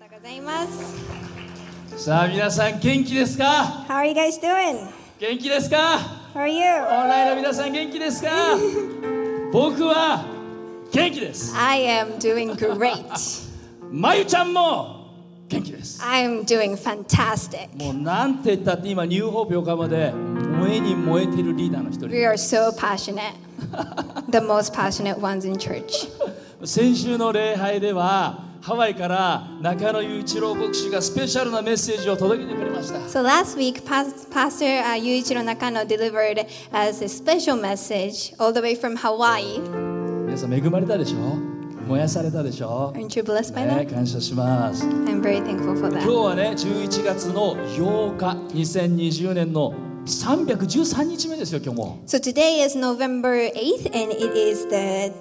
とうございます。 さあ皆さん元気ですか？ How are you guys doing? 元気ですか？ How are you? オンラインの皆さん元気ですか？僕は元気です。 I am doing great. まゆちゃんも元気です。 I'm doing fantastic. もうなんて言ったって今ニューホープ横浜で燃えに燃えてるリーダーの一人。 We are so passionate. The most passionate ones in church. 先週の礼拝ではハワイから中野雄一郎牧師がスペシャルなメッセージを届けてくれました。 So last week, Pastor Yuichiro Nakano delivered us a special message all the way from Hawaii. 皆さん恵まれたでしょ？燃やされたでしょ？ Aren't you blessed by ね、 that? 感謝します。 I'm very thankful for 今 that. 日はね11月の8日2020年の313日目ですよ今日も。 So today is November 8th, and it is the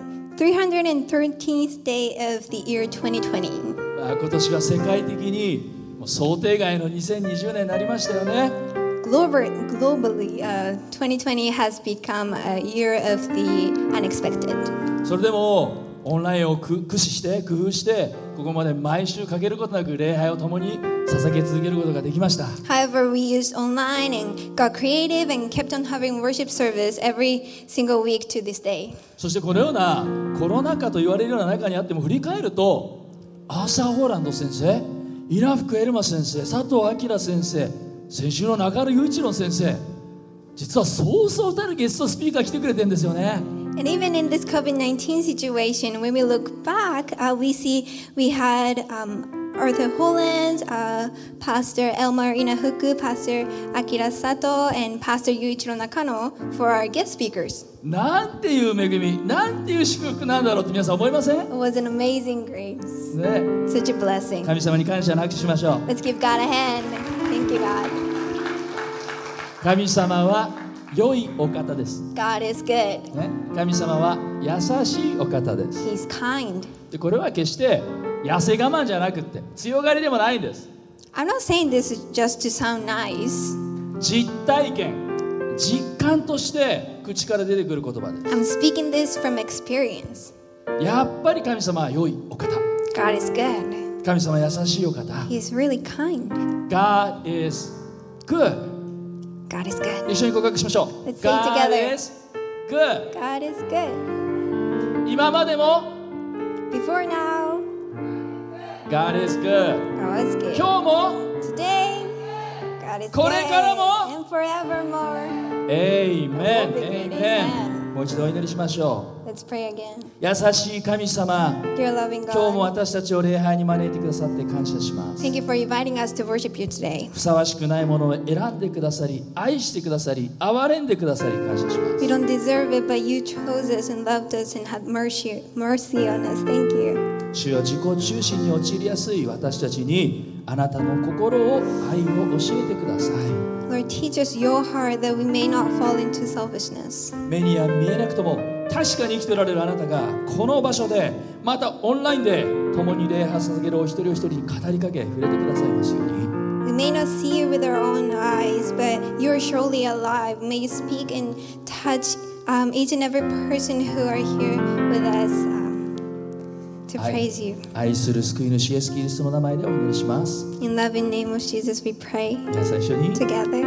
313th day of the year 2020. 今年は世界的にもう想定外の2020年になりましたよね。 Globally, 2020 has become a year of the unexpected. それでもオンラインを駆使して工夫してここまで毎週かけることなく礼拝を共に捧げ続けることができました。 However, we used online and got creative and kept on having worship service every single week to this day. そしてこのようなコロナ禍と言われるような中にあっても振り返るとアーサー・ホーランド先生、イラフク・エルマ先生、佐藤明先生、先週の中野雄一郎先生、実はそうそうたるゲストスピーカー来てくれてるんですよね。 And even in this COVID-19 situation, when we look back, we see we had Arthur Hollands, Pastor Elmar Inahuku, Pastor Akira Sato, and Pastor Yuichiro Nakano for our guest speakers. なんていう恵み、なんていう祝福なんだろうって皆さん思いません？ It was an amazing grace, ね、 such a blessing. 神様に感謝の拍手しましょう。 Let's give God a hand. Thank you, God. 神様は良いお方です、 God is good. ね、神様は優しいお方です。 He's kind. でこれは決して痩せ我慢じゃなくって強がりでもないんです。 I'm not saying this just to sound nice. 実体験、実感として口から出てくる言葉で I'm speaking this from experience. やっぱり神様は良いお方、 God is good. 神様は優しいお方。 He's really kind. God is good。 God is good. 一緒に告白しましょう。 Let's say God together. is good。 God is good. 今までも Before now, God is good。 God is good. 今日も Today, God is これからも good. And forevermore. Amen。 Amen。 もう一度お祈りしましょ Let's pray again. う。優しい神様、 Dear loving 今日も God, 私たちを礼拝に招いてくださって感謝します。 thank you for inviting us to worship you today. ふさわしくないものを選んでくださり、愛してくださり、憐れんでくださり感謝しま We す。 don't deserve it, but you chose us and loved us and had mercy on us. Thank you. 主よ、自己中心に陥りやすい私たちにあなたの心を、愛を教えてください。 Lord, teach us your heart that we may not fall into selfishness. 目には見えなくとも確かに生きておられるあなたがこの場所でまたオンラインで共に礼拝を捧げるお一人お一人に語りかけ触れてくださいますように。 We may not see you with our own eyes, but you are surely alive. May you speak and touch each and every person who are here with us to praise you. 愛する救い主イエス・キリストの名前でお祈りします。 In loving name of Jesus, we pray 皆さん一緒に together.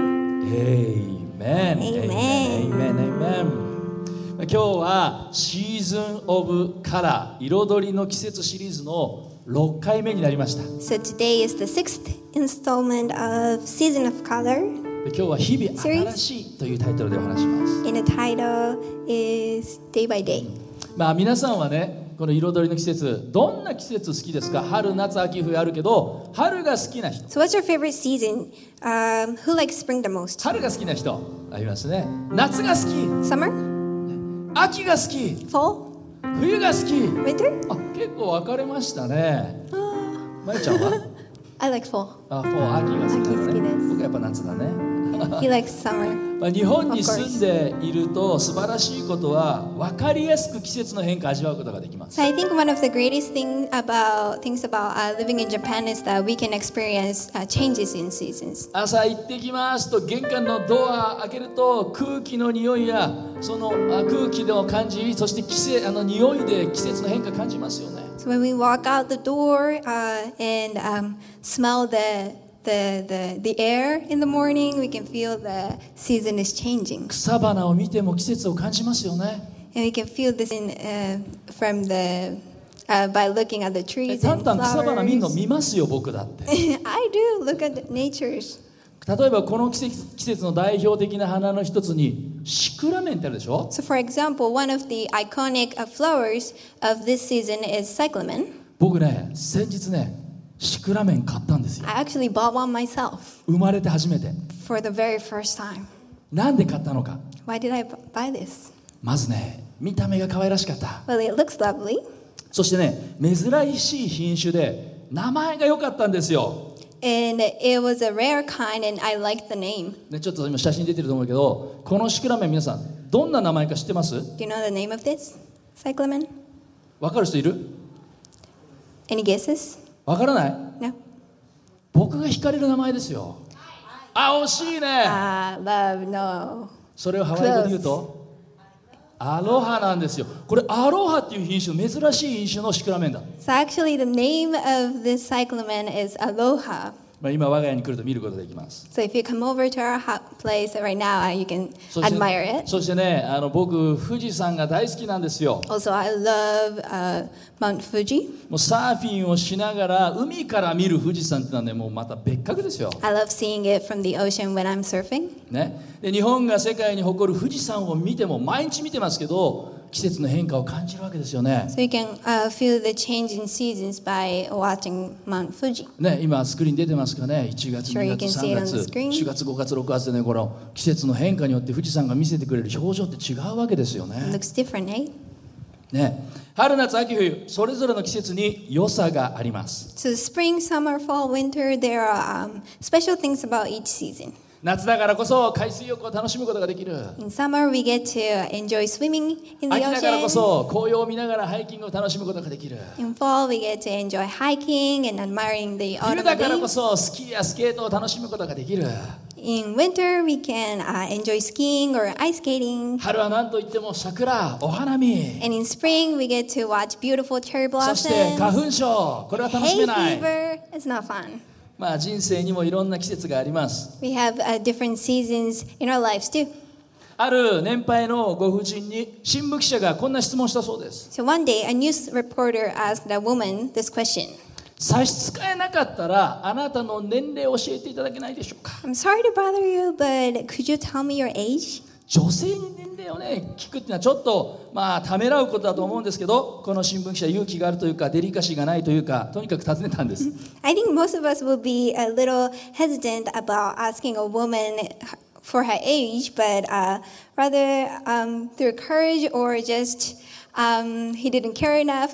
Amen Amen. Amen。今日はシーズンオブカラー、彩りの季節シリーズの6回目になりました。 So today is the 6th installment of Season of Color, 今日は日々新しいというタイトルでお話します。 and the title is Day by Day. 皆さんはね、この彩りの季節、どんな季節好きですか？春、夏、秋、冬あるけど、春が好きな人。 So what's your favorite season? Who likes spring the most? 春が好きな人ありますね。夏が好き、 Summer? 秋が好き、 Fall? 冬が好き。 Winter? 結構分かれましたね。まゆちゃんは I like fall. 秋が好きだ秋好きでね。 す僕はやっぱ夏だね。 He likes summer. 日本に住んでいると素晴らしいことは分かりやすく季節の変化を味わうことができます。 So I think one of the greatest things about living in Japan is that we can experience changes in seasons. 朝行ってきますと玄関のドア開けると空気の匂いやその空気の感じ、そして匂いで季節の変化感じますよね。 So when we walk out the door and smell the air in the morning, we can feel the season is changing. 草花を見ても季節を感じますよね。 And we can feel this from the by looking at the trees た and んたん草花見るの flowers. 見ますよ、僕だって。 I do look at nature's. 例えばこの季節の代表的な花の一つにシクラメンってあるでしょ。 So, for example, one of the iconic flowers of this season is cyclamen. 僕ね、先日ね、シクラメン買ったんですよ。 I actually bought one myself 生まれて初めて。 for the very first time. なんで買ったのか。 Why did I buy this? まずね、見た目が可愛らしかった。 Well, it looks lovely. そしてね、珍しい品種で名前が良かったんですよ。 And it was a rare kind, and I liked the name. ね、ちょっと今写真出てると思うけど、このシクラメン皆さんどんな名前か知ってます？ Do you know the name of this cyclamen? わかる人いる？ Any guesses? わからない？ No? 僕が惹かれる名前ですよ。あ、惜しいね。 Love, no. それをハワイ語で言うとアロハなんですよ。これアロハっていう品種、珍しい品種のシクラメンだ。 So actually, the name of this cyclamen is Aloha. まあ、今我が家に来ると見ることができます。 So if you come over to our place right now, you can そして admire it. そしてね、僕富士山が大好きなんですよ。 Also, I love Mount Fuji. もうサーフィンをしながら海から見る富士山ってのはね、もうまた別格ですよ。 I love seeing it from the ocean when I'm surfing. ね、で日本が世界に誇る富士山を見ても毎日見てますけど、季節の変化を感じるわけですよね。 So you can feel the change in seasons by watching Mount Fuji. ね、今スクリーン出てますかね。1月、 Sure, 2 you 月、 can see it 3 on the 月、 screen. 4月、5月、6月でね、この季節の変化によって富士山が見せてくれる表情って違うわけですよ It ね。 looks different, eh? ね、春夏秋冬それぞれの季節に良さがあります。 So spring, summer, fall, winter, there are special things about each season. 夏だからこそ海水浴を楽しむことができる。 In summer, we get to enjoy swimming in the 秋だからこ ocean. そ紅葉を見ながらハイキングを楽しむことができる。 In fall, we get to enjoy hiking and admiring the 冬 autumn だからこ leaves. そスキーやスケートを楽しむことができる。 In winter, we can enjoy skiing or ice skating. 春は何といっても桜、お花見。 And in spring, we get to watch beautiful cherry そして花 blossoms. 粉症、これは楽しめ Hay ない。 fever, it's not fun. まあ人生にもいろんな季節があります。 We have different seasons in our lives too. ある年配のご婦人に新聞記者がこんな質問したそうです。 So one day, a news reporter asked a woman this question. 差し支えなかったらあなたの年齢を教えていただけないでしょうか。 I'm sorry to bother you, but could you tell me your age? 女性に年齢をね聞くっていうのはちょっとまあためらうことだと思うんですけど、この新聞記者勇気があるというかデリカシーがないというか、とにかく尋ねたんです。 I think most of us will be a little hesitant about asking a woman for her age, but rather through courage or just he didn't care enough,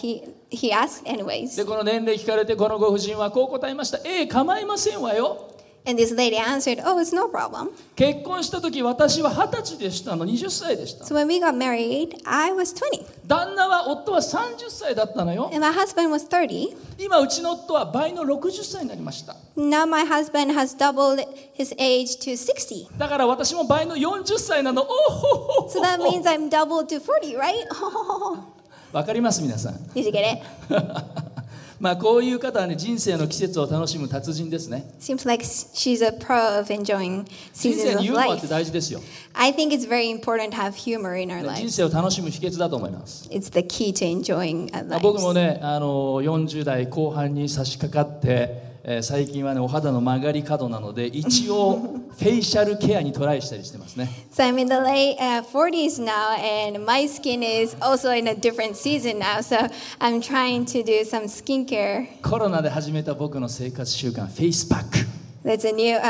he asked anyways. でこの年齢聞かれてこのご婦人はこう答えました。構いませんわよ。 And this lady answered, "Oh, it's no problem." 結婚した時私は20歳でしたの、20歳でした。 So when we got married, I was 20, 旦那は夫は30歳だったのよ。 and my husband was 30. 今うちの夫は倍の60歳になりました。 Now my husband has doubled his age to 60. だから私も倍の40歳なの。おほほほ So that means I'm doubled to 40, right? わかります皆さん。 Did you get it? まあこういう方はね、人生の季節を楽しむ達人ですね。 Seems like she's a pro of enjoying 人生 seasons に of ユーモアって life. 大事ですよ。 I think it's very important to have humor in our 人 lives. 生を楽しむ秘訣だと思います。 It's the key to enjoying our まあ僕も lives. ね、40代後半に差し掛かって、最近はねお肌の曲がり角なので一応フェイシャルケアにトライしたりしてますね。 So I'm in the late 40s now, and my skin is also in a different season now. So I'm trying to do some skincare. コロナで始めた僕の生活習慣、フェイスパック。 That's a new.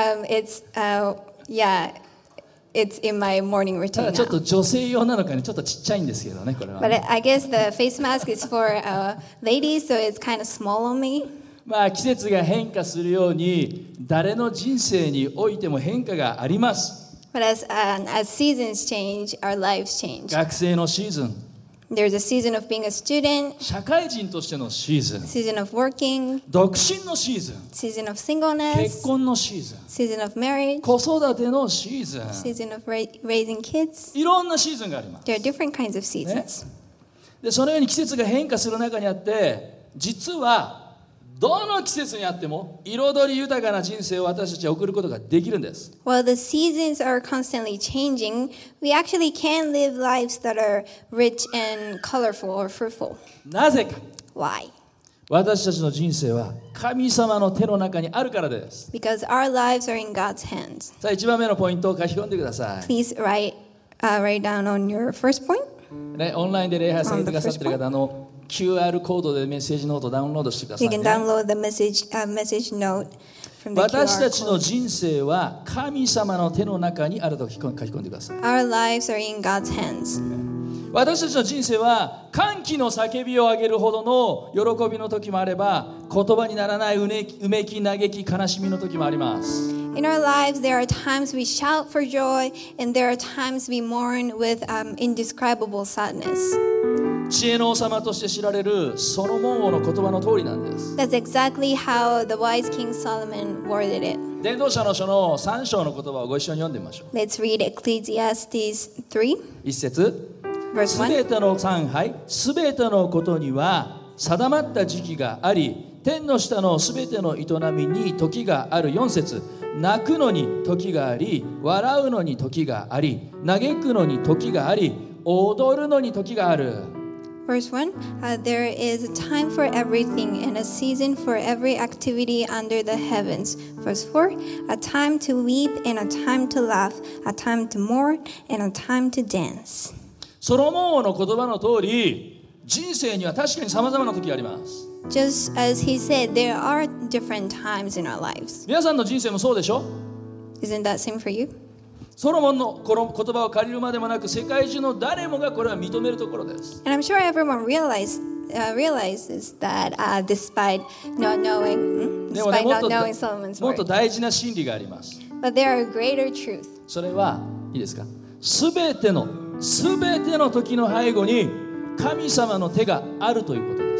It's in my morning た routine だちょっ now. と女性用なのかね、ちょっとちっちゃいんですけどね、これは But ね、 I guess the face mask is for ladies, so it's kind of small on me. まあ季節が変化するように誰の人生においても変化があります。 But as seasons change, our lives change. 学生のシーズン、 There's a season of being a student, 社会人としてのシーズン、 season of working, 独身のシーズン、 season of 結 singleness, 婚のシーズン、 season of marriage, 子育てのシーズン、 season of raising kids. いろんなシーズンがあります。 There are different kinds of seasons. でそのように季節が変化する中にあって、実はどの季節にあっても彩り豊かな人生を私たちは送ることができるんです。 While the seasons are constantly changing, we actually can live lives that are rich and colorful or fruitful. なぜか。 Why? 私たちの人生は神様の手の中にあるからです。 Because our lives are in God's hands. さあ1番目のポイントを書き込んでください。 Please write down on your first point. ね、オンラインで礼拝されてくださっている方、QR コードでメッセージノートをダウンロードしてください、ね。 You can download the message note from the QR 私たちの code. 人生は神様の手の中にあると書き込んでください。 Our lives are in God's hands. 私たちの人生は歓喜の叫びを上げるほどの喜びの時もあれば、言葉にならないうめき嘆き悲しみの時もあります。 In our lives, there are times we shout for joy, and there are times we mourn with indescribable sadness. 知恵の王様として知られるソロモン王の言葉の通りなんです。 That's exactly how the wise King Solomon worded it. 伝道者の書の3章の言葉をご一緒に読んでみましょう。 Let's read Ecclesiastes 3, 一節。 verse す 1. べての3杯、すべてのことには定まった時期があり、天の下のすべての営みに時がある。4節。泣くのに時があり、笑うのに時があり、嘆くのに時があり、踊るのに時がある。 Verse 1, there is a time for everything and a season for every activity under the heavens. Verse 4, a time to weep and a time to laugh, a time to mourn and a time to dance. ソロモン王の言葉の通り、人生には確かに様々な時があります。 Just as he said, there are different times in our lives. 皆さんの人生もそうでしょ？ Isn't that same for you? ソロモンのこの言葉を借りるまでもなく、世界中の誰もがこれは認めるところです。 And I'm sure everyone realizes that despite not knowing Solomon's もっと word. 大事な真理があります。 But there are greater truth. それはいいですか？すべての時の背後に神様の手があるということです。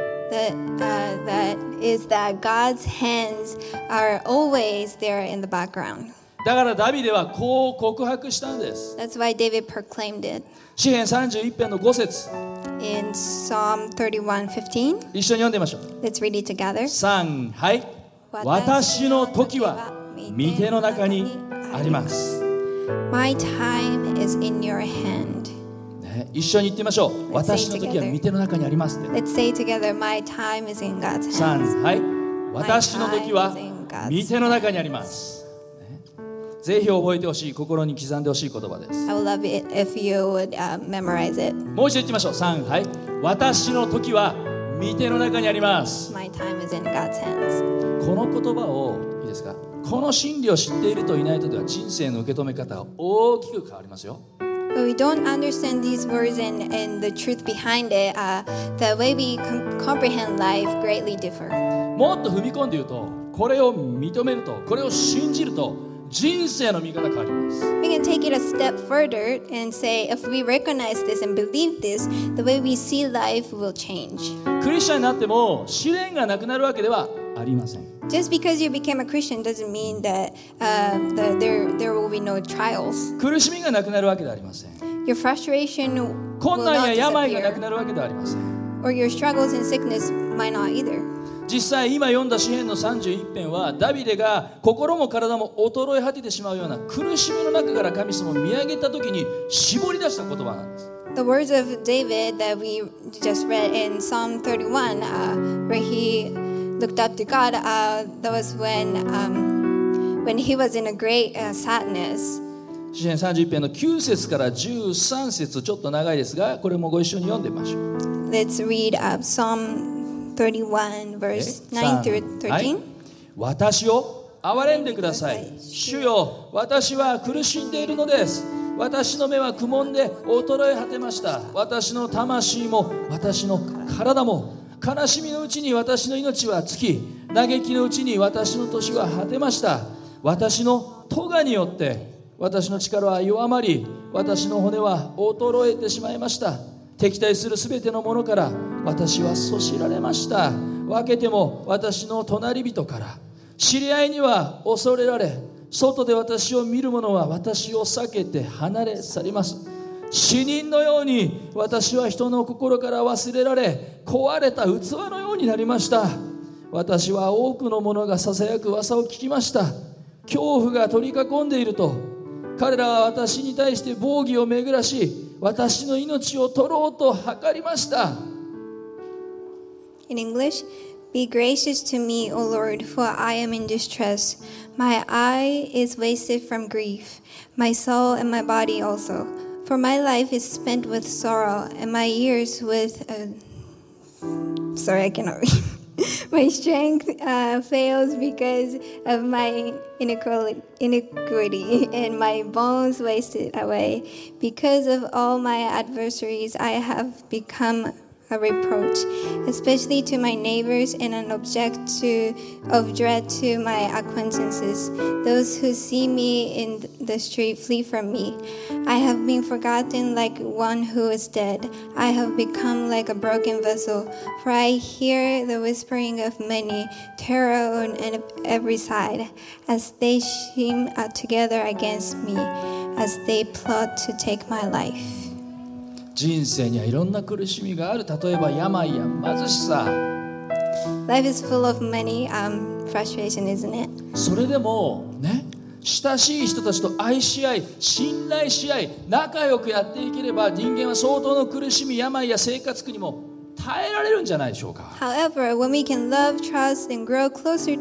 That is that God's hands are always there in the background. だからダビデはこう告白したんです。 That's why David proclaimed it 詩編31編の5節。 in Psalm 31:15. 一緒に読んでみましょう。 Let's read it together. 3、はい。私の時は御手の中にあります。 My time is in your hand. ね、一緒に言ってみましょう。私の時は御手の中にありますって。 Let's say together, my time is in God's hands. 3、はい。私の時は御手の中にあります。ぜひ覚えてほしい、心に刻んでほしい言葉です。 I would love it if you would memorize it. もう一度言ってみましょう。3、はい。私の時は御手の中にあります。 My time is in God's hands. この言葉をいいですか？この真理を知っているといないとでは人生の受け止め方が大きく変わりますよ。 But we don't understand these words and the truth behind it. The way we comprehend life greatly differ. もっと踏み込んで言うと、これを認めると、これを信じると、人生の見方変わります。 We can take it a step further and say, if we recognize this and believe this, the way we see life will change. クリスチャンになっても試練がなくなるわけではありません。 Just because you became a Christian doesn't mean that there will be no trials. 苦しみがなくなるわけではありません。 Your frustration will 困難 not や病がなく disappear. なるわけではありません。 Or your struggles and sickness might not either. 実際今読んだ詩編の31編はダビデが心も体も衰え果ててしまうような苦しみの中から神様を見上げた時に絞り出した言葉なんです。 The words of David that we just read in Psalm 31, where he looked up to God, that was when he was in a great sadness. 詩編31編の9節から13節、ちょっと長いですが、これもご一緒に読んでみましょう。 Let's read Psalm 31, verse 9 through はい、 13. 私を憐れんでください。主よ、私は苦しんでいるのです。私の目は苦悶で衰え果てました。私の魂も私の体も悲しみのうちに私の命は尽き、嘆きのうちに私の年は果てました。私の咎によって私の力は弱まり、私の骨は衰えてしまいました。敵対するすべてのものから私はそしられました。分けても私の隣人から知り合いには恐れられ、外で私を見る者は私を避けて離れ去ります。 死人のように私は人の心から忘れられ、壊れた器のようになりました。私は多くの者がささやく噂を聞きました。恐怖が取り囲んでいると、彼らは私に対して防御を巡らし、私の命を取ろうと図りました。 In English, be gracious to me, O Lord, for I am in distress. My eye is wasted from grief, my soul and my body also. For my life is spent with sorrow, and my years with... Sorry, I cannot read. My strength fails because of my iniquity, and my bones wasted away. Because of all my adversaries, I have become a reproach, especially to my neighbors, and an object of dread to my acquaintances. Those who see me in the street flee from me. I have been forgotten like one who is dead. I have become like a broken vessel, for I hear the whispering of many, terror on every side, as they scheme together against me, as they plot to take my life. 人生にはいろんな苦しみがある。例えば病や貧しさ。 Life is full of many frustration, isn't it? それでもね、親しい人たちと愛し合い、信頼し合い、仲良くやっていければ、人間は相当の苦しみ、病や生活苦にも耐えられるんじゃないでしょうか。 However, when we can love, trust, and grow closer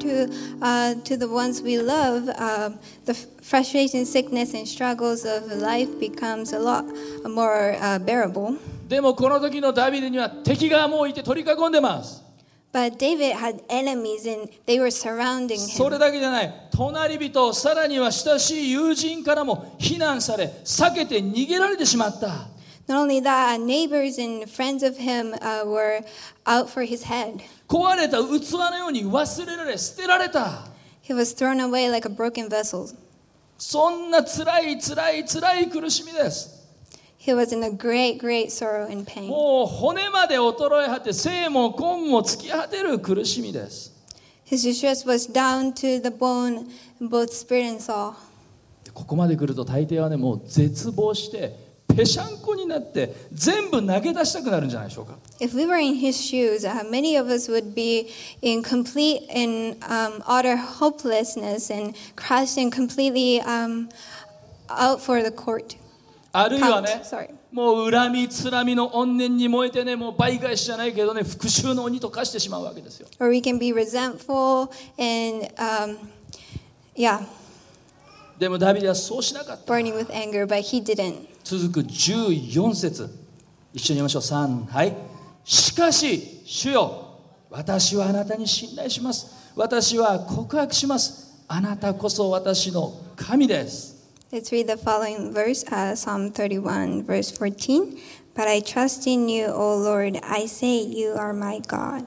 to the ones we love, the frustration, sickness, and struggles of life becomes a lot more bearable. でもこの時のダビデには敵がもういて取り囲んでます。 But David had enemies and they were surrounding それ him. だけじゃない。隣人、さらには親しい友人からも非難され、避けて逃げられてしまった。 Not only that, neighbors and friends of him were out for his head. 壊れた器のように忘れられ、捨てられた。 He was thrown away like a broken vessel. そんな辛い苦しみです。 He was in a great, great sorrow and pain. もう骨まで衰え果て、生も根も尽き果てる苦しみです。 His distress was down to the bone, both spirit and soul. ここまで来ると大抵はね、もう絶望してぺしゃんこになって全部投げ出したくなるんじゃないでしょうか。 If we were in his shoes, many of us would be in complete and utter hopelessness and crushed and completely out for the court. あるいはね、 Sorry. もう恨みつらみの怨念に燃えてね、もう倍返しじゃないけどね、復讐の鬼と化してしまうわけですよ。 Or we can be resentful and, でもダビデはそうしなかった。 burning with anger, but he didn't. 続く14節、一緒に読みましょう。3、はい。しかし主よ、私はあなたに信頼します。私は告白します。あなたこそ私の神です。 Let's read the following verse, Psalm 31, verse 14. But I trust in you, O Lord. I say you are my God.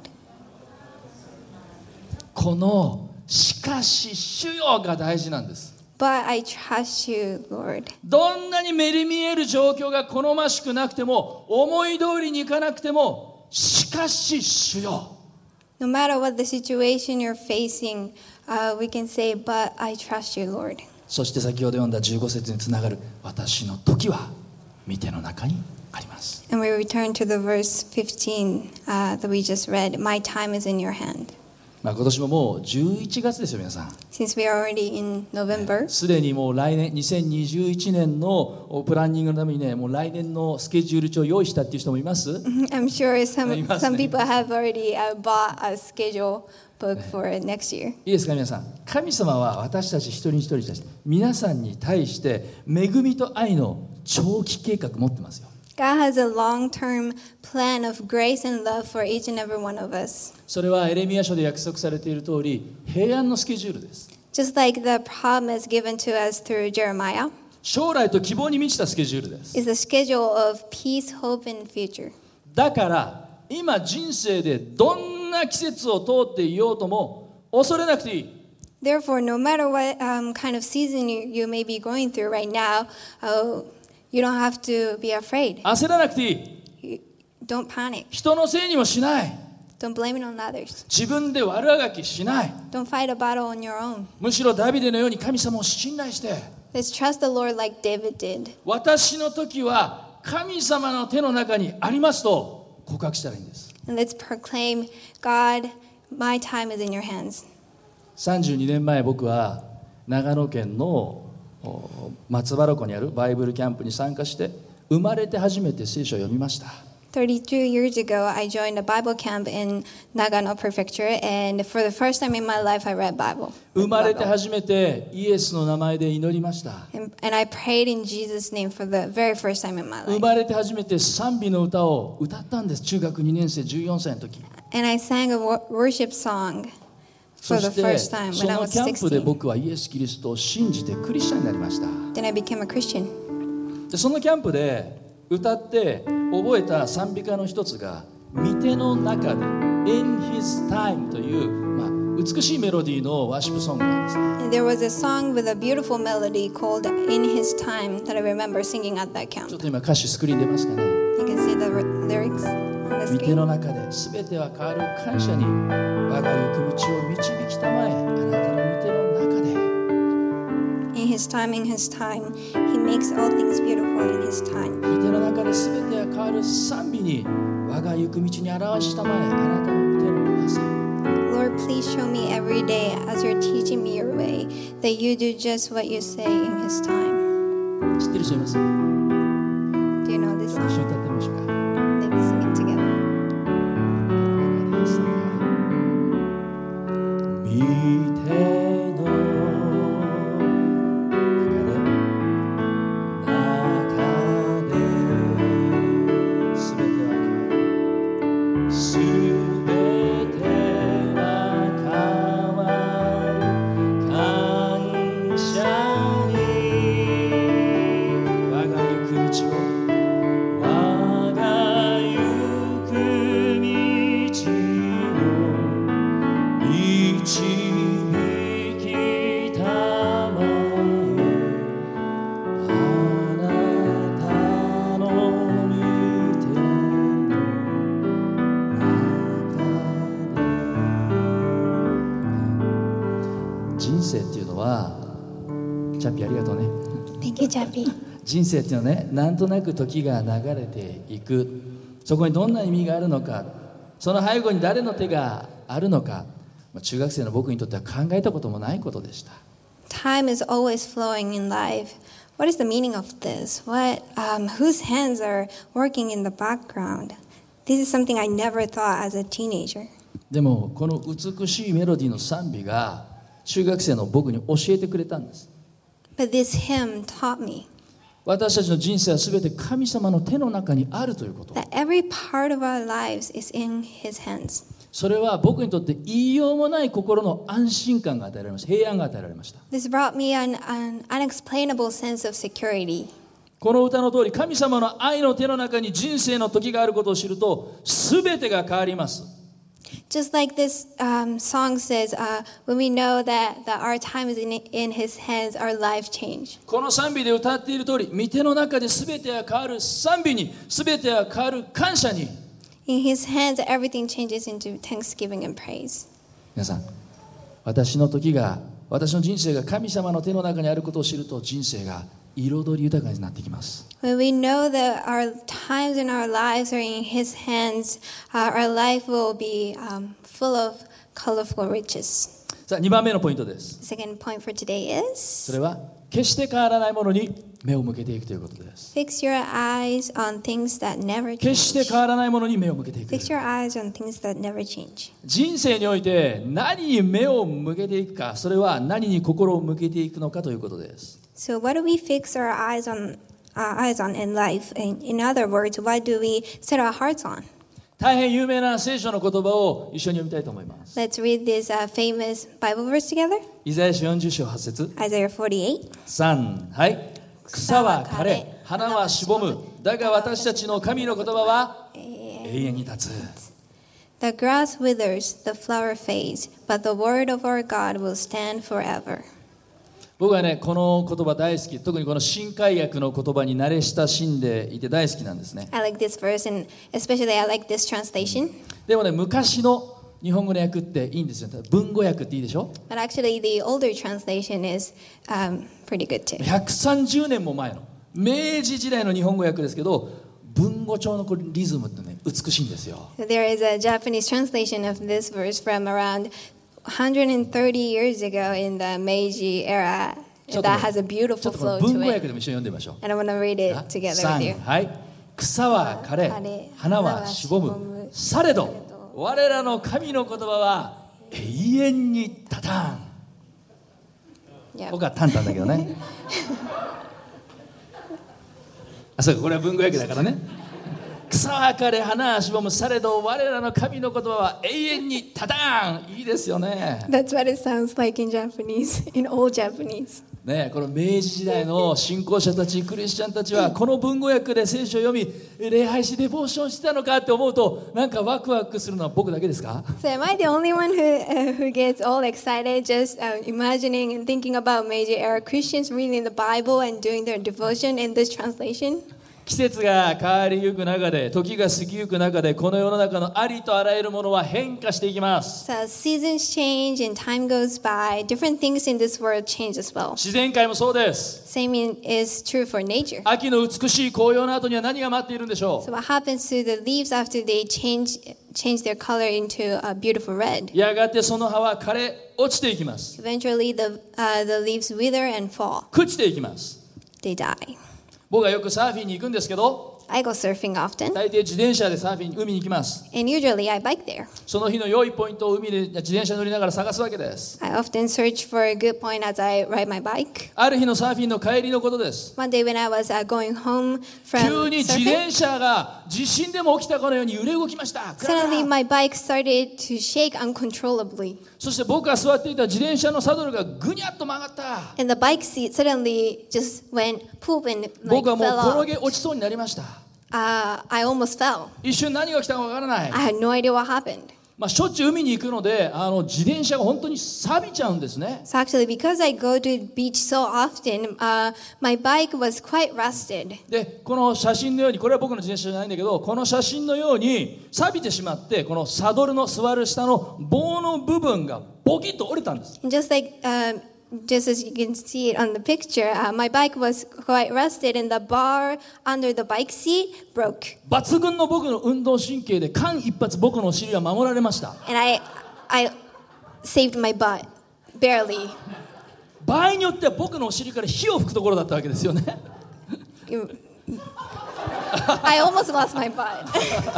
このしかし主よが大事なんです。 But I trust you, Lord. どんなに目に見える状況が好ましくなくても、思い通りにいかなくても、しかし主よ。 No matter what the situation you're facing, we can say, but I trust you, Lord. そして先ほど読んだ15節につながる私の時は御手の中にあります。 And we return to the verse 15 that we just read. My time is in your hand. 今年ももう11月ですよ皆さん。 Since we are already in November, すでにもう来年2021年のプランニングのためにね、もう来年のスケジュール帳を用意したっていう人もいます？ I'm sure some ね。 people have already bought a schedule book for next year. いいですか皆さん。神様は私たち一人一人に対して皆さんに対して恵みと愛の長期計画持ってますよ。 God has a long-term plan of grace and love for each and every one of us. それはエレミヤ書で約束されている通り平安のスケジュールです。 Just like the promise given to us through Jeremiah, 将来と希望に満ちたスケジュールです。 is the schedule of peace, hope, and future. だから今人生でどんな季節を通っていようとも恐れなくていい。 Therefore, no matter what kind of season you may be going through right now, you don't have to be afraid. 焦らなくていい。 Don't panic. 人のせいにもしない。 Don't blame it on others. 自分で悪あがきしない。 Don't fight a battle on your own. むしろダビデのように神様を信頼して、 Let's trust the Lord like David did. 私の時は神様の手の中にありますと告白したらいいんです。 And let's proclaim, God, my time is in your hands. 32年前僕は長野県の松原湖にあるバイブルキャンプに参加して生まれて初めて聖書を読みました。 32 years ago, I joined a Bible camp in Nagano Prefecture, and for the first time in my life, I read Bible. 生まれて初めてイエスの名前で祈りました。 And I prayed in Jesus' name for the very first time in my 生 life. まれて初めて賛美の歌を歌ったんです。中学2年生14歳の時。 And I sang a worship song そ for し the て first time そ when I の was キャンプで 16. 僕はイエス・キリストを信じてクリスチャンになりました。 Then I became a Christian. でそのキャンプで歌って覚えた賛美歌の一つが御手の中で In His Time という、美しいメロディーのワーシップソングなんですね。 And there was a song with a beautiful melody called In His Time that I remember singing at that ちょ camp. っと今歌詞スクリーン出ますかね。 You can see the lyrics on the 御手 screen. の中で全ては変わる感謝に我が行く道を導きたまえあなたの御手の中で In His time, He makes all things beautiful in His time. 御手の中で全ては変わる賛美に我が行く道に表したまえあなたの御手の技 Lord, please show me every day as you're teaching me your way that you do just what you say in His time. 知ってる人います？ Do you know this 一緒 song? に歌ってみましょうか。 Let's sing it together. 御手の人生っていうのはチャッピーありがとうね。 Thank you, Chappie. 人生っていうのはね、なんとなく時が流れていく。そこにどんな意味があるのか、その背後に誰の手があるのか、中学生の僕にとっては考えたこともないことでした。 Time is always flowing in life. What is the meaning of this? Whose hands are working in the background? This is something I never thought as a teenager. でもこの美しいメロディーの賛美が中学生の僕に教えてくれたんです。 But this hymn taught me 私たちの人生は全て神様の手の中にあるということ。 that every part of our lives is in His hands. それは僕にとって言いようもない心の安心感が与えられました。平安が与えられました。 This brought me an unexplainable sense of security. この歌の通り、神様の愛の手の中に人生の時があることを知ると全てが変わります。 Just like this song says, when we know that our time is in His hands, our life change. この賛美で歌っている通り、御手の中で全てが変わる賛美に、全てが変わる感謝に。 In His hands, everything changes into thanksgiving and praise. 皆さん、私の人生が神様の手の中にあることを知ると人生が彩り豊かになってきます。 When we know that our times in our lives are in His hands, our life will be full of colorful riches. さあ、2番目のポイントです。 The second point for today そ is れは決して変わらないものに目を向けていくということです。 fix your eyes on things that never 決して change. 変わらないものに目を向けていく。 Fix your eyes on things that never change. 人生において何に目を向けていくか、それは何に心を向けていくのかということです。 So what do we fix our eyes on in life? In other words, what do we set our hearts on? 大変有名な聖書の言葉を一緒に読みたいと思います。 Let's read this famous Bible verse together. イザヤ書40章8節 Isaiah 48. 3、はい。草は枯れ、花はしぼむ。だが私たちの神の言葉は永遠に立つ。 The grass withers, the flower fades, but the word of our God will stand forever. 僕はね、この言葉大好き。特にこの新海訳の言葉に慣れ親しんでいて大好きなんですね。 I like this verse, and especially I like this translation. でもね、昔の日本語の訳っていいんですよ。文語訳っていいでしょ。 But actually, the older translation is pretty good too. 130年も前の明治時代の日本語訳ですけど、文語帳のこれリズムってね、美しいんですよ。 There is a Japanese translation of this verse from around 130 years ago in the Meiji era ちょっと that has a ちょ beautiful っとこの flow 文 to 語訳 it. でも一緒に読んでみましょう。 And I want to read it together with you. はい。草は枯れ、花はしぼむ。されど、我らの神の言葉は永遠にたたん。 Yeah. 僕はタンタンだけどね。あ、そうか、これは文語訳だからね。草は枯れ、花はしぼむ。されど、我らの神の言葉は永遠にたたん。いいですよね。 That's what it sounds like in Japanese, in old Japanese. ね、この明治時代の信仰者たち、クリスチャンたちはこの文語訳で聖書を読み、礼拝しデボーションしてたのかって思うと、なんかワクワクするのは僕だけですか？ So am I the only one who gets all excited just imagining and thinking about Meiji era Christians reading the Bible and doing their devotion in this translation? 季節が変わりゆく中で、時が過ぎゆく中で、この世の中のありとあらゆるものは変化していきます。 So seasons change and time goes by. Different things in this world change as well. 自然界もそうです。 Same is true for nature. 秋の美しい紅葉の後には何が待っているんでしょ So what happens to the leaves after they change their color into a beautiful red? う。やがてその葉は枯れ落ちていきます。 Eventually the leaves wither and fall. 朽ちていきます。 They die. 僕はよくサーフィンに行くんですけど、 I go surfing often, 大抵自転車でサーフィン海に行きます。 and usually I bike there. その日の良いポイントを海で自転車乗りながら探すわけです。 I often search for a good point as I ride my bike. ある日のサーフィンの帰りのことです。 One day when I was going home 急 from に自 surfing, 転車が地震でも起きたかのように揺れ動きました。 suddenly my bike started to shake uncontrollably. そして僕が座っていた自転車のサドルがぐにゃっと曲がった。 And the bike seat suddenly just went poop and like 僕はもう fell 転 off. げ落ちそうになりました。 I almost fell. 一瞬何が来たかわからない。 I had no idea what happened. しょっちゅう海に行くので、自転車が本当に錆びちゃうんですね。 So actually, because I go to the beach so often, my bike was quite rusted. で、この写真のように、これは僕の自転車じゃないんだけど、この写真のように錆びてしまって、このサドルの座る下の棒の部分がボキッと折れたんです。 And just as you can see it on the picture, my bike was quite rusted, and the bar under the bike seat broke. 抜群の僕の運動神経で間一髪僕のお尻は守られました。 And I saved my butt, barely. 場合によっては僕のお尻から火を吹くところだったわけですよね。 I almost lost my butt.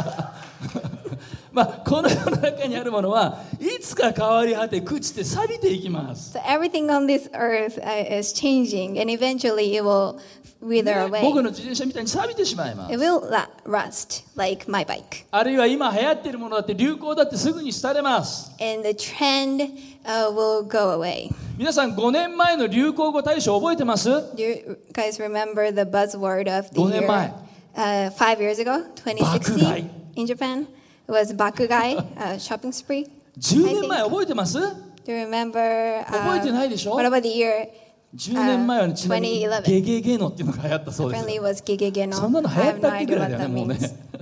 この世の中にあるものはいつか変わり果て朽ちて錆びていきます。 So everything on this earth is changing, and eventually it will wither 僕 away. の自転車みたいに錆びてしまいます。 It will rust like my bike. あるいは今流行っているものだって流行だってすぐに廃れます。 And the trend will go away. 皆さん5年前の流行語大賞覚えてます？ Do you guys remember the buzzword of the 5年 year? 前。 5 years ago, 爆買い。 2016, in Japan. It was Bakugai, shopping spree. 10年前覚えてます？ Do you remember? 覚えてないでしょ？ What about the year? 10年前はちなみに 2011 ゲゲゲのっていうのが流行ったそうです。 Apparently it was Gigege そんな no. の流 I 行っ have た no ってぐ idea らい what だよね、 that もうね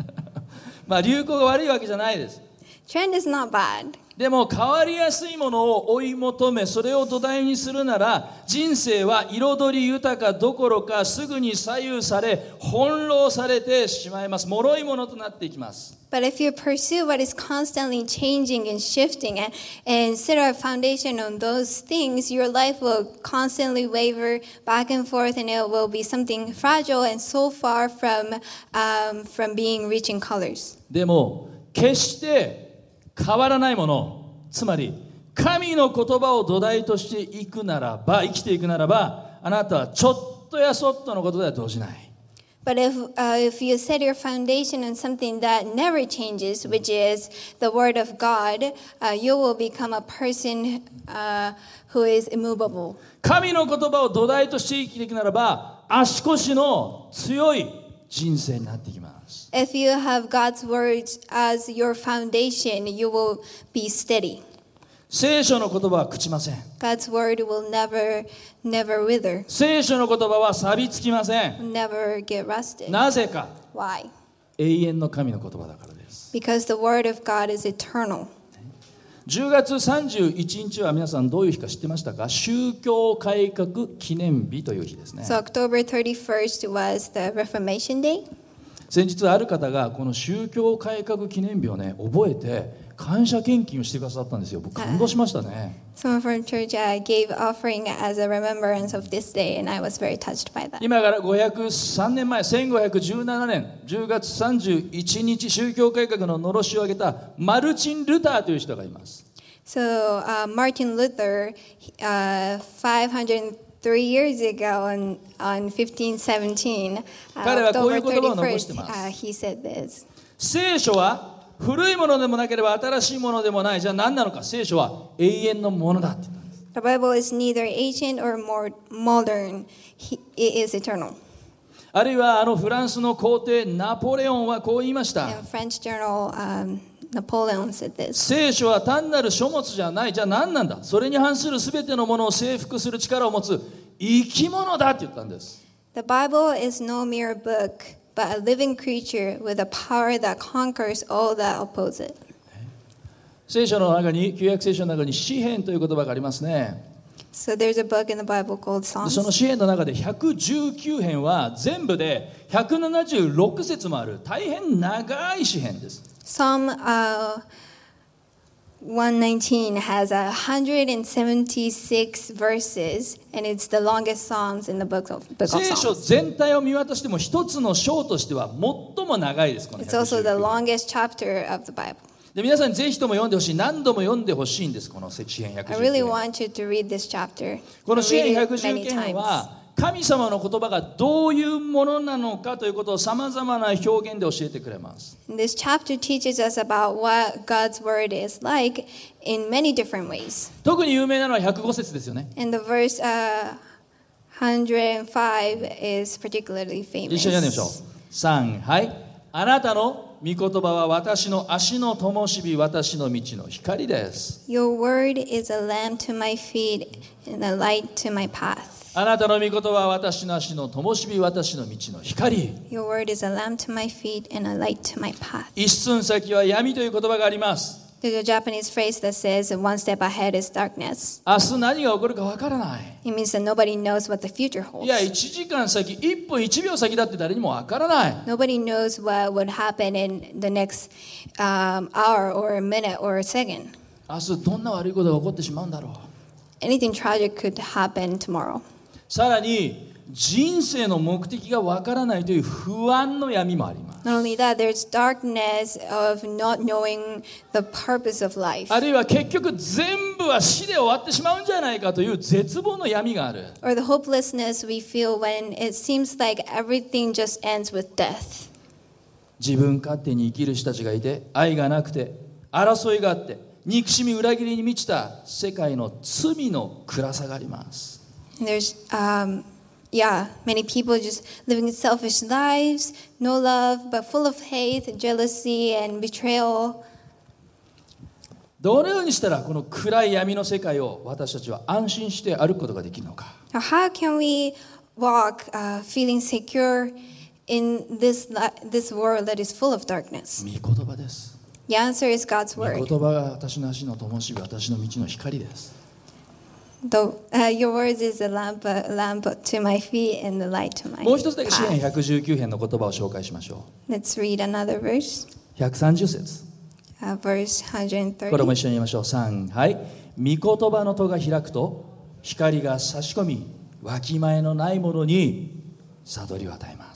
means. 流行が悪いわけじゃないです。 Trend is not bad. でも変わりやすいものを追い求め、それを土台にするなら、人生は彩り豊かどころかすぐに左右され翻弄されてしまいます。脆いものとなっていきます。 But if you pursue what is constantly changing and shifting and set a foundation on those things, your life will constantly waver back and forth, and it will be something fragile and so far from being rich in colors. でも決して変わらないもの、つまり神の言葉を土台としていくならば、生きていくならば、あなたはちょっとやそっとのことでは動じない。 But if you set your foundation on something that never changes, which is the Word of God, you will become a person who is immovable. 神の言葉を土台として生きていくならば、足腰の強い人生になっていきます。 If you have God's words as your foundation, you will be steady. 聖書の言葉は朽ちません。 God's word will never wither, 聖書の言葉は錆びつきません。 never get rusted. なぜか、 Why? 永遠の神の言葉だからです。 Because the word of God is eternal. 10月31日は皆さんどういう日か知ってましたか？宗教改革記念日という日ですね。 So October 31st was the Reformation Day. 先日ある方がこの宗教改革記念日をね覚えて感謝献金をしてくださったんですよ。僕感動しましたね。 Someone from church gave offering as a remembrance of this day, and I was very touched by that. 今から503年前、1517年10月31日、宗教改革ののろしを上げたマルチン・ルターという人がいます。 So Martin Luther, 503 years ago on 1517, 彼はこういう October 言葉を残しています。 31st, he said this. 聖書は古いものでもなければ新しいものでもない。じゃあ何なのか？聖書は永遠のものだって言ったんです。 The Bible is neither ancient or more modern. It is eternal. あるいはフランスの皇帝ナポレオンはこう言いました。 In French journal, Napoleon said this. 聖書は単なる書物じゃない。じゃあ何なんだ？それに反するすべてのものを征服する力を持つ生き物だって言ったんです。 The Bible is no mere book, but a living creature with a power that conquers all that oppose it. 聖書の中に、旧約聖書の中に詩篇という言葉がありますね。 So there's a book in the Bible called でその Psalms. 詩篇の中で119編は全部で176節もある大変長い詩篇です。 Psalm 119 has 176 verses, and it's the longest Psalms in the book of 聖書 Psalms. 全体を見渡しても一つの章としては最も長いです。この It's also the 119 longest chapter of the Bible. で皆さんにぜひとも読んでほしい。何度も読んでほしいんです。この詩篇119 I really 編。 want you to read this chapter. この and 詩 read 篇 it 119 many 編 times. は神様の言葉がどういうものなのかということをさまざまな表現で教えてくれます。 And this chapter teaches us about what God's word is like in many different ways. 特に有名なのは105節ですよね。 And the verse 105 is particularly 一緒に読んでみましょう。 famous. 3、はい。あなたの御言葉は私の足の灯火、私の道の光です。 Your word is a lamp to my feet and a light to my path. あなたの御言葉は私の足の灯火、私の道の光。 Your word is a lamp to my feet and a light to my path. 一寸先は闇という言葉があります。 There's a Japanese phrase that says one step ahead is darkness. 明日何が起こるかわからない。 It means that nobody knows what the future いや、 holds. 1時間先、1分1秒先だって誰にもわからない。 Nobody knows what would happen in the next hour or a minute or a second. 明日どんな悪いことが起こってしまうんだろう。 Anything tragic could happen tomorrow. さらに人生の目的がわからないという不安の闇もあります。 Not only that, there's darkness of not knowing the purpose of life. あるいは結局全部は死で終わってしまうんじゃないかという絶望の闇がある。 Or the hopelessness we feel when it seems like everything just ends with death. 自分勝手に生きる人たちがいて、愛がなくて、争いがあって、憎しみ裏切りに満ちた世界の罪の暗さがあります。 And there's, many people just living selfish lives, no love, but full of hate, jealousy, and betrayal. どのようにしたらこの暗い闇の世界を私たちは安心して歩くことができるのか。 Now, how can we walk feeling secure in this world that is full of darkness? 御言葉です。 The answer is God's 御言 word. 葉が私の足の灯火、私の道の光です。 Your words is a lamp to my feet and the light to my もう一つだけ詩篇 path. 119編の言葉を紹介しましょ Let's read another verse, う。130節。 verse これも 130. 一緒に言いましょう。3、はい。御言葉の戸が開くと光が差し込み、わきまえのないものに悟りを与えます。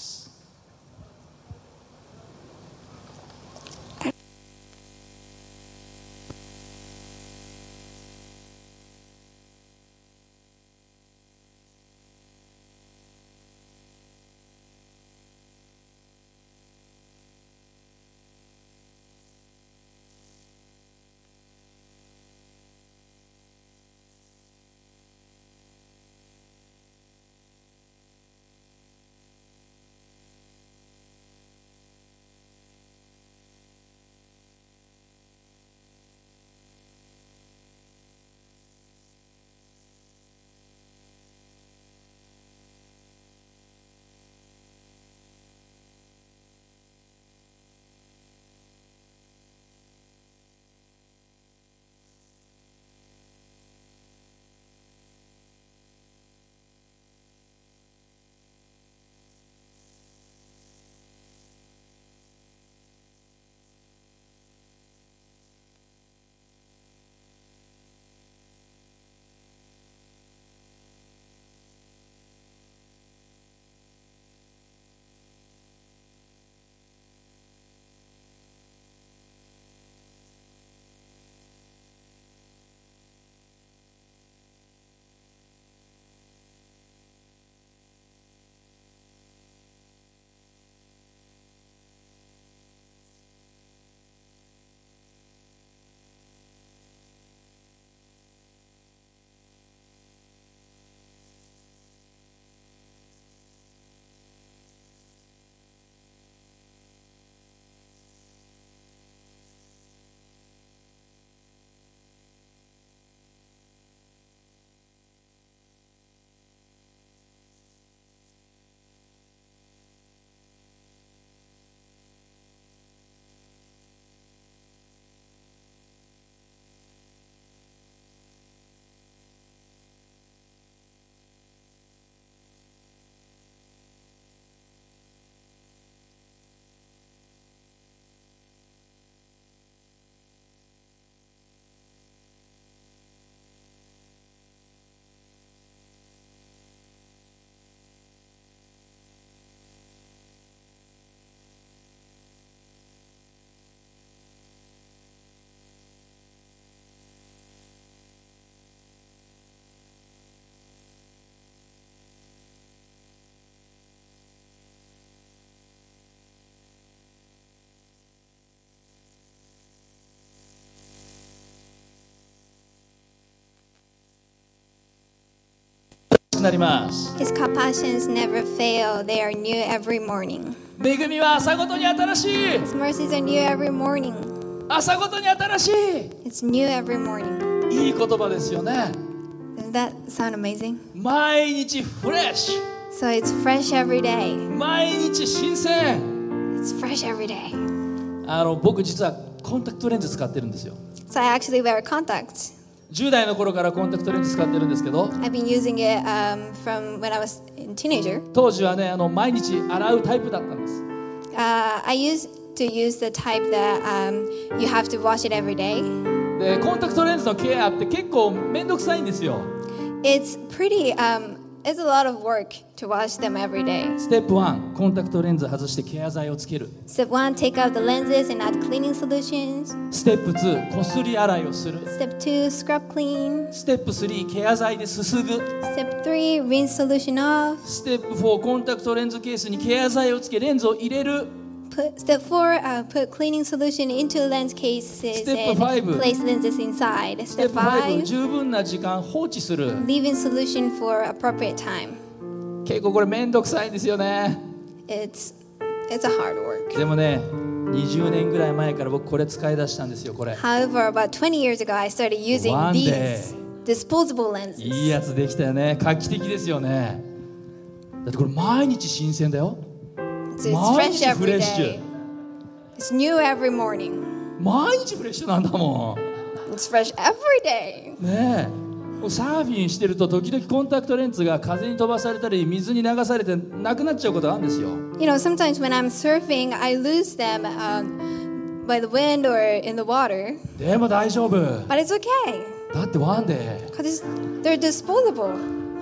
なります。 His compassions never fail. They are new every morning. 恵みは朝ごとに新しい。 His mercies are new every morning. 朝ごとに新しい。 It's new every morning. いい言葉ですよね。 Doesn't that sound amazing? 毎日フレッシュ。 So it's fresh every day. 毎日新鮮。 It's fresh every day. 僕実はコンタクトレンズ使ってるんですよ。 So I actually wear contacts. 10代の頃からコンタクトレンズ使ってるんですけど、 I've been using it from when I was a teenager. 当時はね毎日洗うタイプだったんです。 I used to use the type that you have to wash it every day. でコンタクトレンズのケアって結構めんどくさいんですよ。 It's it's a lot of work to wash them every day. ステップ1、コンタクトレンズ外してケア剤をつける。 Step 1, take out the lenses and add cleaning solutions. ステップ2、こすり洗いをする。 Step 2, scrub clean. ステップ3、ケア剤ですすぐ。 Step 3, rinse solution off. ステップ4、コンタクトレンズケースにケア剤をつけレンズを入れる。 Step 4, put cleaning solution into lens cases Step and 5. place lenses inside. ステッ Step プ5、 5, 十分な時間放置する。 leave in solution for appropriate time. 結構これめんどくさいんですよね。 It's a hard work. でもね、20年ぐらい前から僕これ使い出したんですよ、これ。 However, about 20 years ago, I started using One these disposable lenses. いいやつできたよね。画期的ですよね。だってこれ毎日新鮮だよ。 It's 毎 fresh 日フレッ every シ day. ュ。 It's new every morning. 毎日フレッシュなんだも It's fresh every day. ん。ねえ。サーフィンしてると時々コンタクトレンズが風に飛ばされたり水に流されてなくなっちゃうことがあるんですよ。 You know, sometimes when I'm surfing, I lose them by the wind or in the water. でも大丈夫。 But it's okay だってワンデー。 because they're disposable.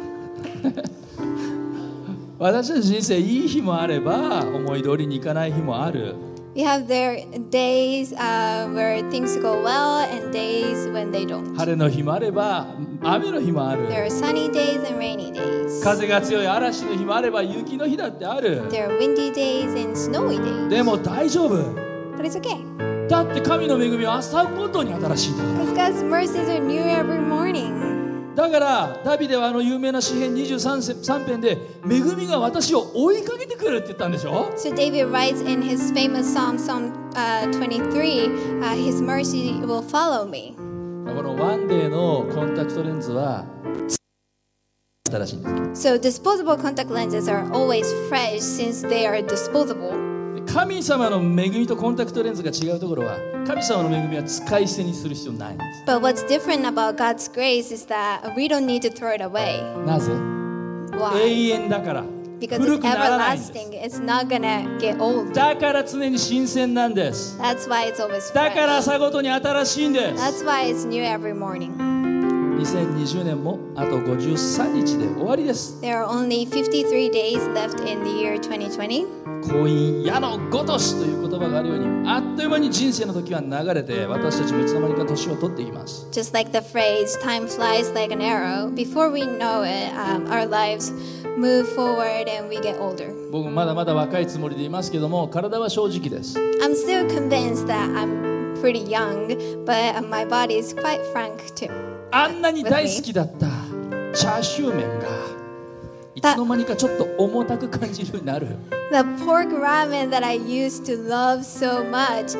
私たち人生いい日もあれば思い通りにいかない日もある。 We have their days where things go well and days when they don't. 晴れの日もあれば雨の日もある。 There are sunny days and rainy days. 風が強い嵐の日もあれば雪の日だってある。 There are windy days and snowy days. でも大丈夫。 But it's okay だって神の恵みは朝ごとに新しいんだから。 because God's mercies are new every morning. だからダビデは有名な詩編23編で恵みが私を追いかけてくるって言ったんでしょ。 So David writes in his famous Psalm 23, his mercy will follow me. このワンデーのコンタクトレンズは新しいんです。 So disposable contact lenses are always fresh since they are disposable. 神様の恵みとコンタクトレンズが違うところは神様の恵みは使い捨てにする必要ないんです。 But what's different about God's grace is that we don't need to throw it away. なぜ？ Why? 永遠だから。 Because 古 it's くならないんです。 everlasting. It's not gonna get old. だから常に新鮮なんです。 That's why it's always だから fresh. 朝ごとに新しいんです。 That's why it's new every morning. 2020年もあと53日で終わりです。 There are only 53 days left in the year 2020. 婚姻矢のごとしという言葉があるようにあっという間に人生の時は流れて私たちもいつの間にか年を取っていきます。 Just like the phrase, time flies like an arrow. Before we know it, our lives move forward and we get older. 僕まだまだ若いつもりでいますけども体は正直です。 I'm still convinced that I'm pretty young, but my body is quite frank too. あんなに大好きだったチャーシュー麺がいつの間にかちょっと重たく感じるようになる。 The pork ramen that I used to love so much,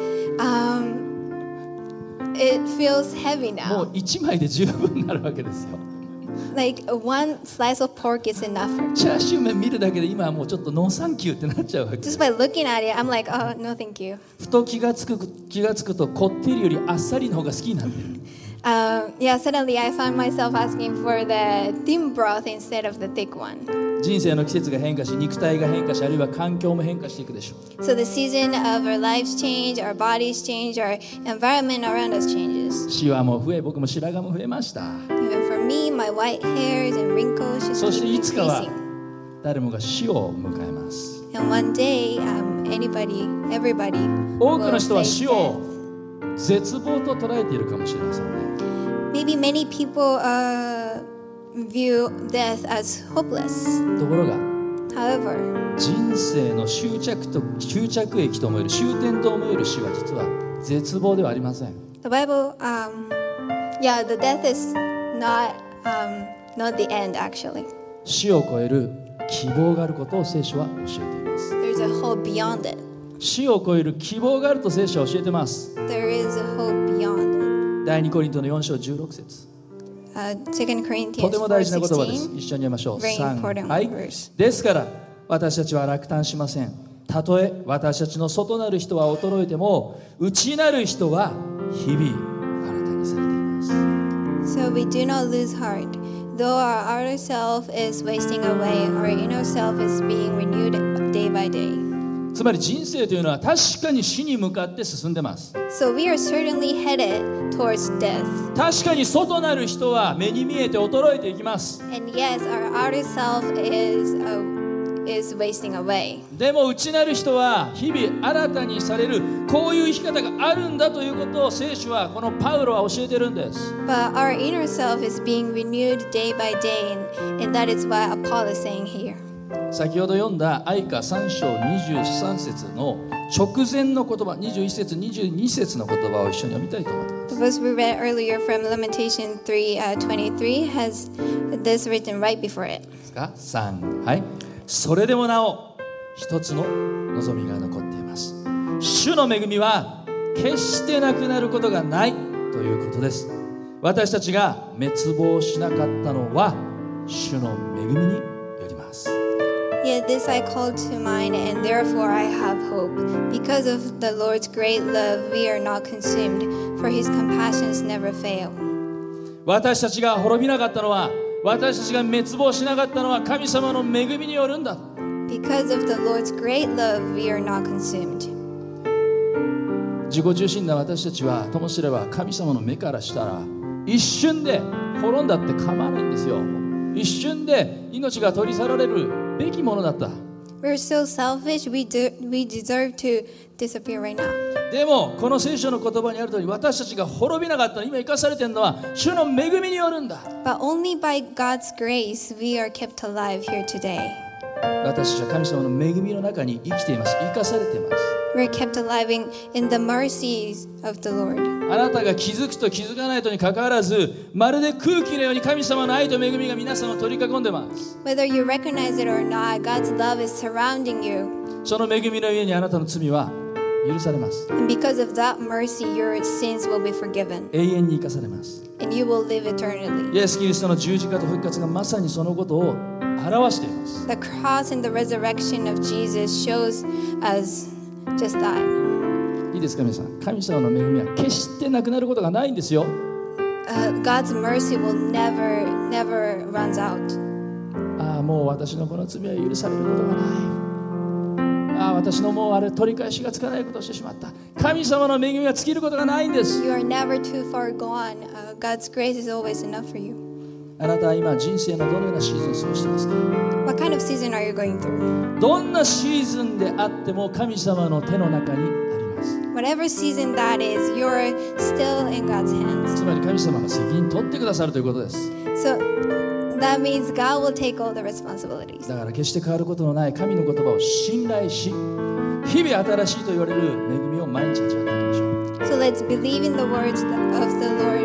it feels heavy もう now. 1枚で十分になるわけですよ。 Like one slice of pork is enough for me. チャーシュー麺見るだけで今はもうちょっとノーサンキューってなっちゃうわけ。 Just by looking at it, I'm like, oh, no thank you. ふと気がつくとこってりよりあっさりの方が好きになってる。 Yeah, suddenly I found myself asking for the thin broth instead of the thick one. 人生の季節が変化し肉体が変化しあるいは環境も変化していくでしょう。 So the season of our lives change, our bodies change, our environment around us changes. シワも増え僕も白髪も増えました。 Even for me, my white hairs and wrinkles just そして keep いつかは increasing. 誰もが死を迎えます。 And one day, everybody 多くの will 人は face 死を絶望と捉えているかもしれませんね。 Maybe many people view death as hopeless. ところが However, 人生の終着駅と思える終点と思える死は実は絶望ではありません。 the Bible, the death is not the end actually. 死を超える希望があることを聖書は教えています。 There's a hope beyond it. 死を超える希望があると聖書は教えています。 There is a hope beyond it. 第2コリントの4章16節、 2 Corinthians とても大事な言葉です。 4:16. 一緒に読みましょう。 Very 3、 important はい。 verse. ですから私たちは落胆しません。たとえ私たちの外なる人は衰えても、内なる人は日々新たにされています。 So we do not lose heart. Though our outer self is wasting away, our inner self is being renewed day by day. つまり人生というのは確かに死に向かって進んでます。 So we are certainly headed towards death. 確かに外なる人は目に見えて衰えていきます。 And yes, our outer self is wasting away. でも内なる人は日々新たにされる、こういう生き方があるんだということを聖書は、このパウロは教えてるんです。 But our inner self is being renewed day by day, and that is what Paul is saying here. 先ほど読んだ愛歌3章23節の直前の言葉、21節22節の言葉を一緒に読みたいと思います。 The verse we read earlier from Lamentation 3:23 has this written right before it. ですか3、はい。それでもなお一つの望みが残っています。主の恵みは決してなくなることがないということです。私たちが滅亡しなかったのは主の恵みによります。 Yet this I call to mind, and therefore I have hope. Because of the Lord's great love, we are not consumed, for his compassions never fail. 私たちが滅びなかったのは、私たちが滅亡しなかったのは神様の恵みによるんだ。 Because of the Lord's great love, we are not consumed. 自己中心な私たちはともすれば神様の目からしたら一瞬で滅んだって構わないんですよ。一瞬で命が取り去られるべきものだった。 We're so selfish, we deserve to disappear right now. でもこの聖書の言葉にある通り、私たちが滅びなかったの、今生かされているのは主の恵みによるんだ。 But only by God's grace, we are kept alive here today. 私たちは神様の恵みの中に生きています。生かされています。 We're kept alive in the mercies of the Lord. あなたが気づくと気づかないとにかかわらず、まるで空気のように神様の愛と恵みが皆さんを取り囲んでます。 Whether you recognize it or not, God's love is surrounding you. その恵みの上にあなたの罪は許されます。 And because of that mercy, your sins will be forgiven. 永遠に生かされます。 And you will live eternally. イエス・キリストの十字架と復活がまさにそのことを表しています。 The cross and the resurrection of Jesus shows us just that. いいですか皆さん、神様の恵みは決してなくなることがないんですよ。 God's mercy will never runs out. ああ、もう私のこの罪は許されることがない。ああ、私のもうあれ取り返しがつかないことをしてしまった。神様の恵みが尽きることがないんです。 You are never too far gone. God's grace is always enough for you. あなたは今人生のどのようなシーズンを過ごしていますか？ What kind of season are you going through? どんなシーズンであっても神様の手の中にあります。 Whatever season that is, you're still in God's hands. つまり神様が責任取ってくださるということです。 So that means God will take all the responsibilities. だから決して変わることのない神の言葉を信頼し、日々新しいと言われる恵みを毎日味わっていきましょう。 So let's believe in the words of the Lord,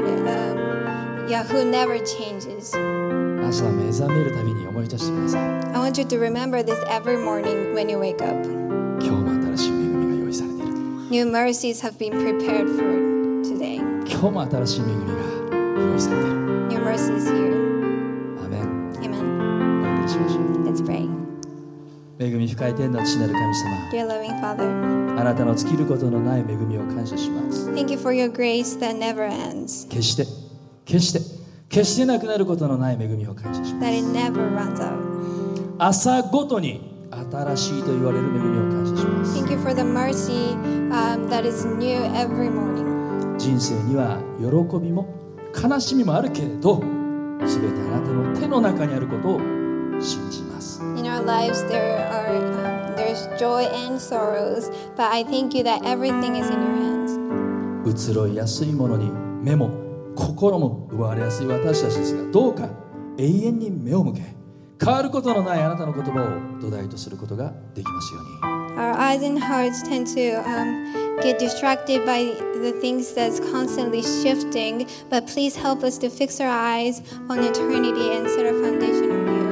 who never changes. 朝目覚めるたびに思い出してください。 I want you to remember this every morning when you wake up. 今日も新しい恵みが用意されている。 New mercies have been prepared for today. 今日も新しい恵みが用意されている。 New mercies here. アーメン。 Amen. お祈りしましょう。 Let's pray. 恵み深い天の父なる神様、 Dear loving Father, あなたの尽きることのない恵みを感謝します。 thank you for your grace that never ends, 決してなくなることのない恵みを感謝します。 that it never runs out. 朝ごとに新しいと言われる恵みを感謝します。 Thank you for the mercy that is new every morning. 人生には喜びも悲しみもあるけれど、すべてあなたの手の中にあることを信じます。 In our lives, there's joy and sorrows, but I thank you that everything is in your hands. 移ろいやすいものに目も心も奪われやすい私たちですが、どうか永遠に目を向け、変わることのないあなたの言葉を土台とすることができますように。 Our eyes and hearts tend to get distracted by the things that's constantly shifting, but please help us to fix our eyes on eternity and set our foundation on you.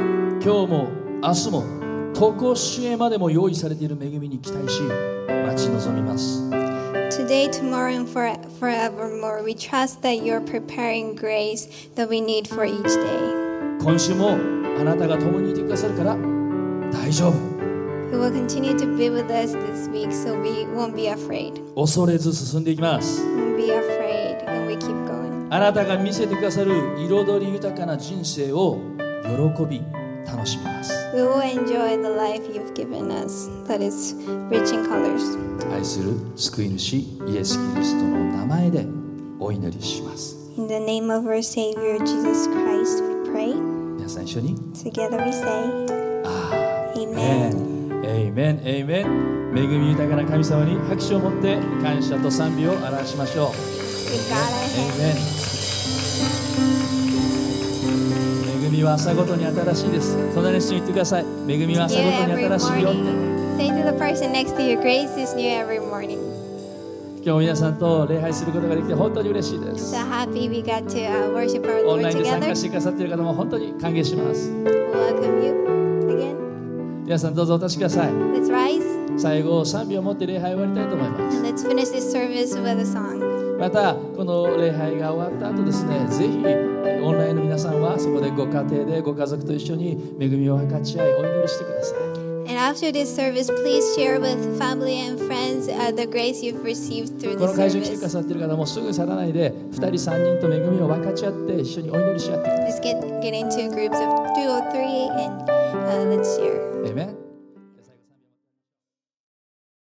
今日も明日も常しえまでも用意されている恵みに期待し待ち望みます。 Today, tomorrow, and forevermore, we trust that you're preparing grace that we need for each day. 今週もあなたが共にいてくださるから大丈夫。 You will continue to be with us this week, so we won't be afraid. 恐れず進んでいきます。 Won't be afraid, and we keep going. あなたが見せてくださる彩り豊かな人生を喜び楽しみます。 We will enjoy the life you've given us that is rich in colors. 愛する救い主イエス・キリストの名前でお祈りします。 In the name of our Savior Jesus Christ, we pray. 皆さん一緒に Together we say, アー Amen. メン、エイメン、エイメン。恵み豊かな神様に拍手を持って感謝と賛美を表しましょう。 Give God our エイ hand. メン。恵みは朝ごとに新しいです。隣の人に言ってください。恵みは朝 New ごとに every 新しいよって。 morning. Say to the person next to you, grace is new every morning. 今日も皆さんと礼拝することができて本当に嬉しいです So。happy we got to worship our オン Lord ラインで参 together. 加してくださっている方も本当に歓迎します。 Welcome you again. 皆さんどうぞお立ちください。 Let's rise 最後賛美を持って礼拝を終わりたいと思います。 and let's finish this service with a song. またこの礼拝が終わった後ですね、ぜひオンラインの皆さんはそこでご家庭でご家族と一緒に恵みを分かち合いお祈りしてください。 And after this service, please share with family and friends the grace you've received through こ this の会場に来てくだ service. さっている方もすぐ去らないで2人3人と恵みを分かち合って一緒にお祈りし合ってください。 Let's get into groups of 2 or 3 and let's share. Amen